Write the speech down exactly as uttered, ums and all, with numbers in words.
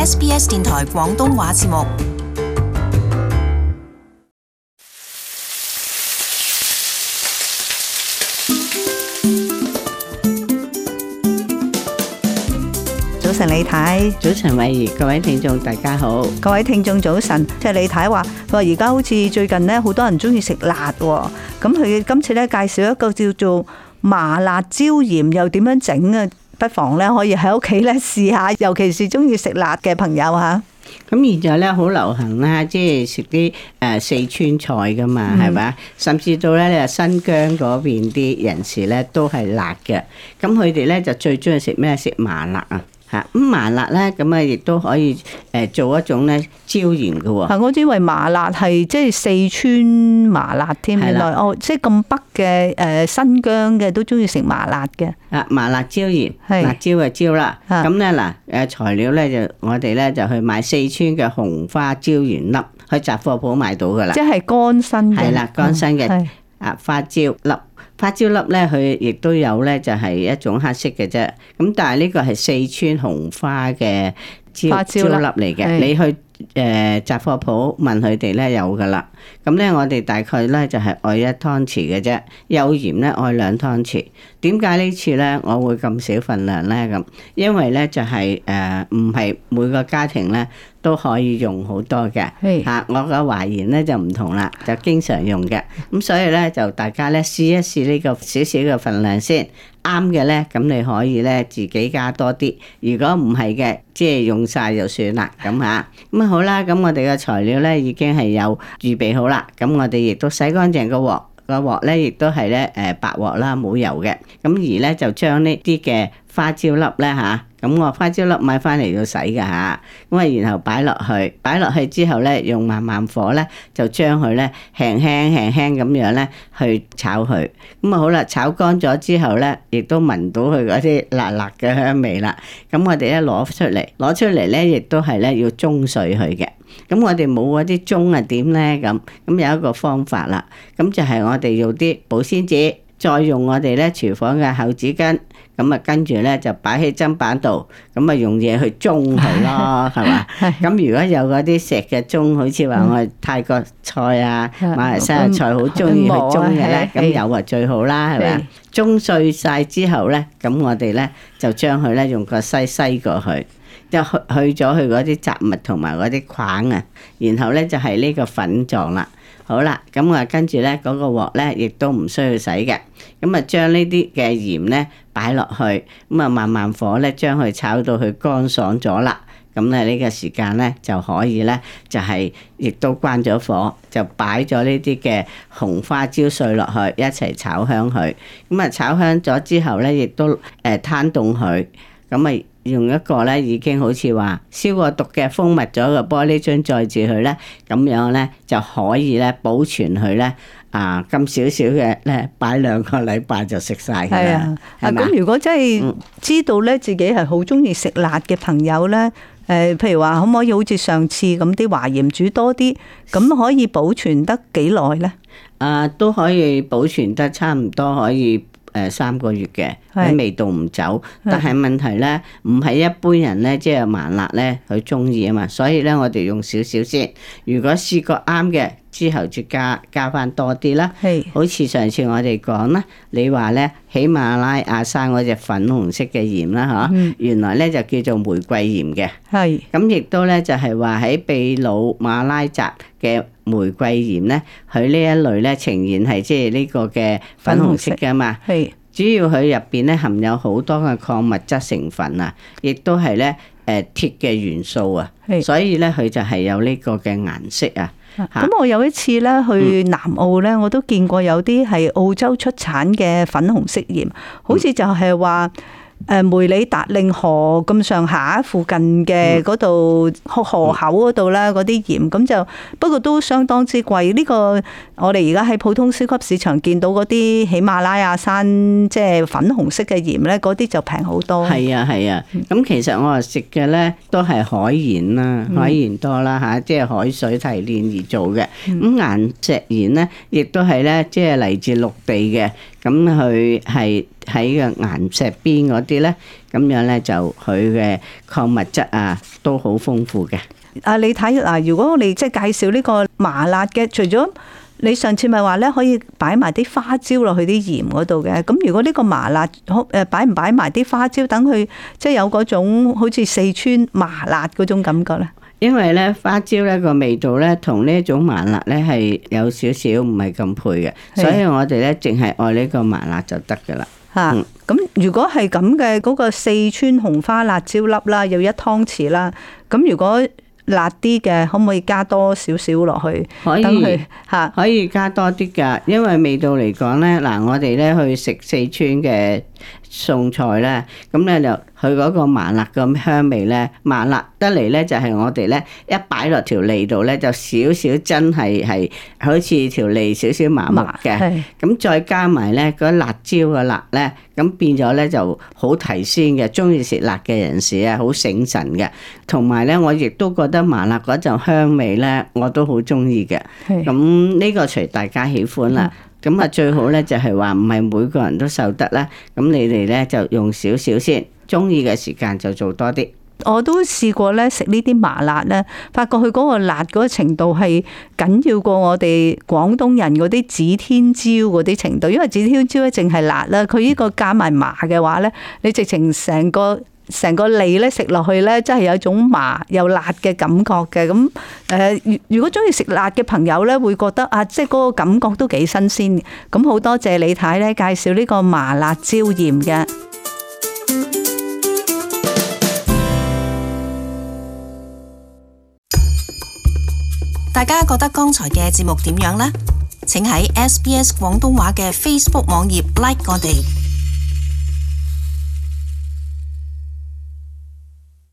S B S 電台廣東話節目。 早晨李太， 早晨慧怡，各位聽眾大家好。 各位聽眾早晨。即係李太話，佢話而家好似最近咧，好多人中意食辣喎。咁佢今次咧介紹一個叫做麻辣椒鹽，又點樣整啊？不妨咧可以喺屋企咧試下，尤其是中意食辣嘅朋友吓。 咁現在咧好流行啦，即係食啲誒四川菜噶嘛，係咪、嗯？甚至到咧你話新疆嗰邊啲人士咧都係辣嘅。咁佢哋咧就最中意食咩？食麻辣啊！咁麻辣咧，咁啊亦都可以誒做一種咧椒鹽嘅喎。 係，我以為麻辣係即係四川麻辣添，原來哦，即係咁北嘅誒新疆嘅都中意食麻辣嘅。 啊，麻辣椒鹽，辣椒嘅椒啦。咁咧嗱誒材料咧就我哋咧就去買四川嘅紅花椒鹽粒，去雜貨鋪買到㗎啦。 即係乾身嘅。係啦， 乾身嘅啊花椒粒。花椒粒咧，佢亦都有咧，就係一種黑色嘅啫。咁但係呢個係四川紅花嘅椒椒粒嚟嘅。你去誒雜貨鋪問佢哋咧有噶啦。咁咧我哋大概咧就係愛一湯匙嘅啫，幼鹽咧愛兩湯匙。點解呢次咧我會咁少份量咧？咁因為咧就係誒唔係每個家庭咧都可以用好多嘅嚇。我個華賢咧就唔同啦，就經常用嘅。咁所以咧就大家咧試一試呢個少少嘅份量先。啱嘅咧，咁你可以咧自己加多啲。如果唔係嘅，即係用晒就算啦。咁嚇，咁啊好啦，咁我哋嘅材料咧已經係有預備好啦。咁我哋亦都洗乾淨個鑊，個鑊咧亦都係咧誒白鑊啦，冇油嘅。咁而咧就將呢啲嘅花椒粒咧嚇，咁我花椒粒買翻嚟要洗㗎嚇，咁啊然後擺落去，擺落去之後咧用慢慢火咧就將佢咧輕輕輕輕咁樣咧去炒佢，咁啊好啦，炒乾咗之後咧，亦都聞到佢嗰啲辣辣嘅香味啦。咁我哋一攞出嚟，攞出嚟咧亦都係咧要舂碎佢嘅。咁我哋冇嗰啲舂啊點咧咁，咁有一個方法啦，咁就係我哋用啲保鮮紙，再用我哋咧廚房嘅厚紙巾。咁啊，跟住咧就擺喺砧板度，咁啊用嘢去舂佢咯，係嘛？咁如果有嗰啲石嘅舂，好似話我哋泰國菜啊、馬來西亞菜好中意去舂嘅咧，咁有啊最好啦，係咪？舂碎晒之後咧，咁我哋咧就將佢咧用個篩篩過去，就去去咗佢嗰啲雜物同埋嗰啲框啊，然後咧就係呢個粉狀啦。好啦，咁我跟住咧嗰個鑊咧，亦都唔需要洗嘅。咁啊，將呢啲嘅鹽咧擺落去，咁啊慢慢火咧將佢炒到佢乾爽咗啦。咁咧呢個時間咧就可以咧就係亦都關咗火，就擺咗呢啲嘅紅花椒碎落去一齊炒香佢。咁啊炒香咗之後咧，亦都誒攤凍佢。咁啊用一個咧已經好似話消過毒嘅封密咗個玻璃樽載住佢咧，咁樣咧就可以咧保存佢咧啊咁少少嘅咧擺兩個禮拜就食晒㗎啦。係啊， 啊咁如果真係知道咧自己係好中意食辣嘅朋友咧，誒譬如話可唔可以好似上次咁啲華鹽煮多啲，咁可以保存得幾耐咧？ 啊，都可以保存得差唔多可以。誒三個月嘅，啲味道唔走，但係問題咧，唔係一般人咧，即係麻辣咧，佢中意啊嘛，所以咧，我哋用少少先。如果試過啱嘅，之後就加加翻多啲啦。係，好似上次我哋講啦，你話咧喜馬拉雅山嗰隻粉紅色嘅鹽啦，嚇、嗯，原來咧就叫做玫瑰鹽嘅。係，咁亦都咧就係話喺秘魯馬拉扎嘅玫瑰鹽咧，佢呢一類咧呈現係即係呢個嘅粉紅色㗎嘛。係，主要佢入邊咧含有好多嘅礦物質成分啊，亦都係咧誒鐵嘅元素啊，所以咧佢就係有呢個嘅顏色啊。咁我有一次咧去南澳咧，我都見過有啲係澳洲出產嘅粉紅色鹽，好似就係話誒梅里達令河咁上下附近嘅嗰度河口嗰度啦，嗰啲鹽咁就不過都相當之貴。呢個我哋而家喺普通超級市場見到嗰啲喜馬拉雅山即係粉紅色嘅鹽咧，嗰啲就平好多。 係啊係啊，咁其實我話食嘅咧都係海鹽啦，海鹽多啦嚇，即係海水提煉而做嘅。咁岩石鹽咧，亦都係咧，即係嚟自陸地嘅。 咁佢係喺個岩石邊嗰啲咧，咁樣咧就佢嘅礦物質啊都好豐富嘅。 啊，你睇嗱，如果我哋即係介紹呢個麻辣嘅，除咗你上次咪話咧可以擺埋啲花椒落去啲鹽嗰度嘅，咁如果呢個麻辣誒擺唔擺埋啲花椒，等佢即係有嗰種好似四川麻辣嗰種感覺咧？ 因為咧花椒咧個味道咧同呢一種麻辣咧係有少少唔係咁配嘅，所以我哋咧淨係愛呢個麻辣就得噶啦。 嚇，咁如果係咁嘅嗰個四川紅花辣椒粒啦，有一湯匙啦，咁如果辣啲嘅，可唔可以加多少少落去？ 可以， 等佢嚇可以加多啲㗎，因為味道嚟講咧，嗱我哋咧去食四川嘅餸菜咧，咁咧就佢嗰個麻辣嘅香味咧，麻辣得嚟咧就係我哋咧一擺落條脷度咧，就少少真係係好似條脷少少麻木嘅，咁再加埋咧嗰辣椒嘅辣咧，咁變咗咧就好提鮮嘅，中意食辣嘅人士啊，好醒神嘅，同埋咧我亦都覺得麻辣嗰陣香味咧，我都好中意嘅，咁呢個隨大家喜歡啦。咁啊，最好咧就係話唔係每個人都受得啦。咁你哋咧就用少少先，中意嘅時間就做多啲。 我都試過咧食呢啲麻辣咧，發覺佢嗰個辣嗰個程度係緊要過我哋廣東人嗰啲指天椒嗰啲程度，因為指天椒咧淨係辣啦，佢呢個加埋麻嘅話咧，你直情成個成個脷咧食落去咧，真係有一種麻又辣嘅感覺嘅。咁誒，如果中意食辣嘅朋友咧，會覺得啊，即係嗰個感覺都幾新鮮。咁好多謝李太咧介紹呢個麻辣椒鹽嘅。 大家覺得剛才嘅節目點樣呢？請喺 S B S 廣東話嘅 Facebook 網頁 like 我哋。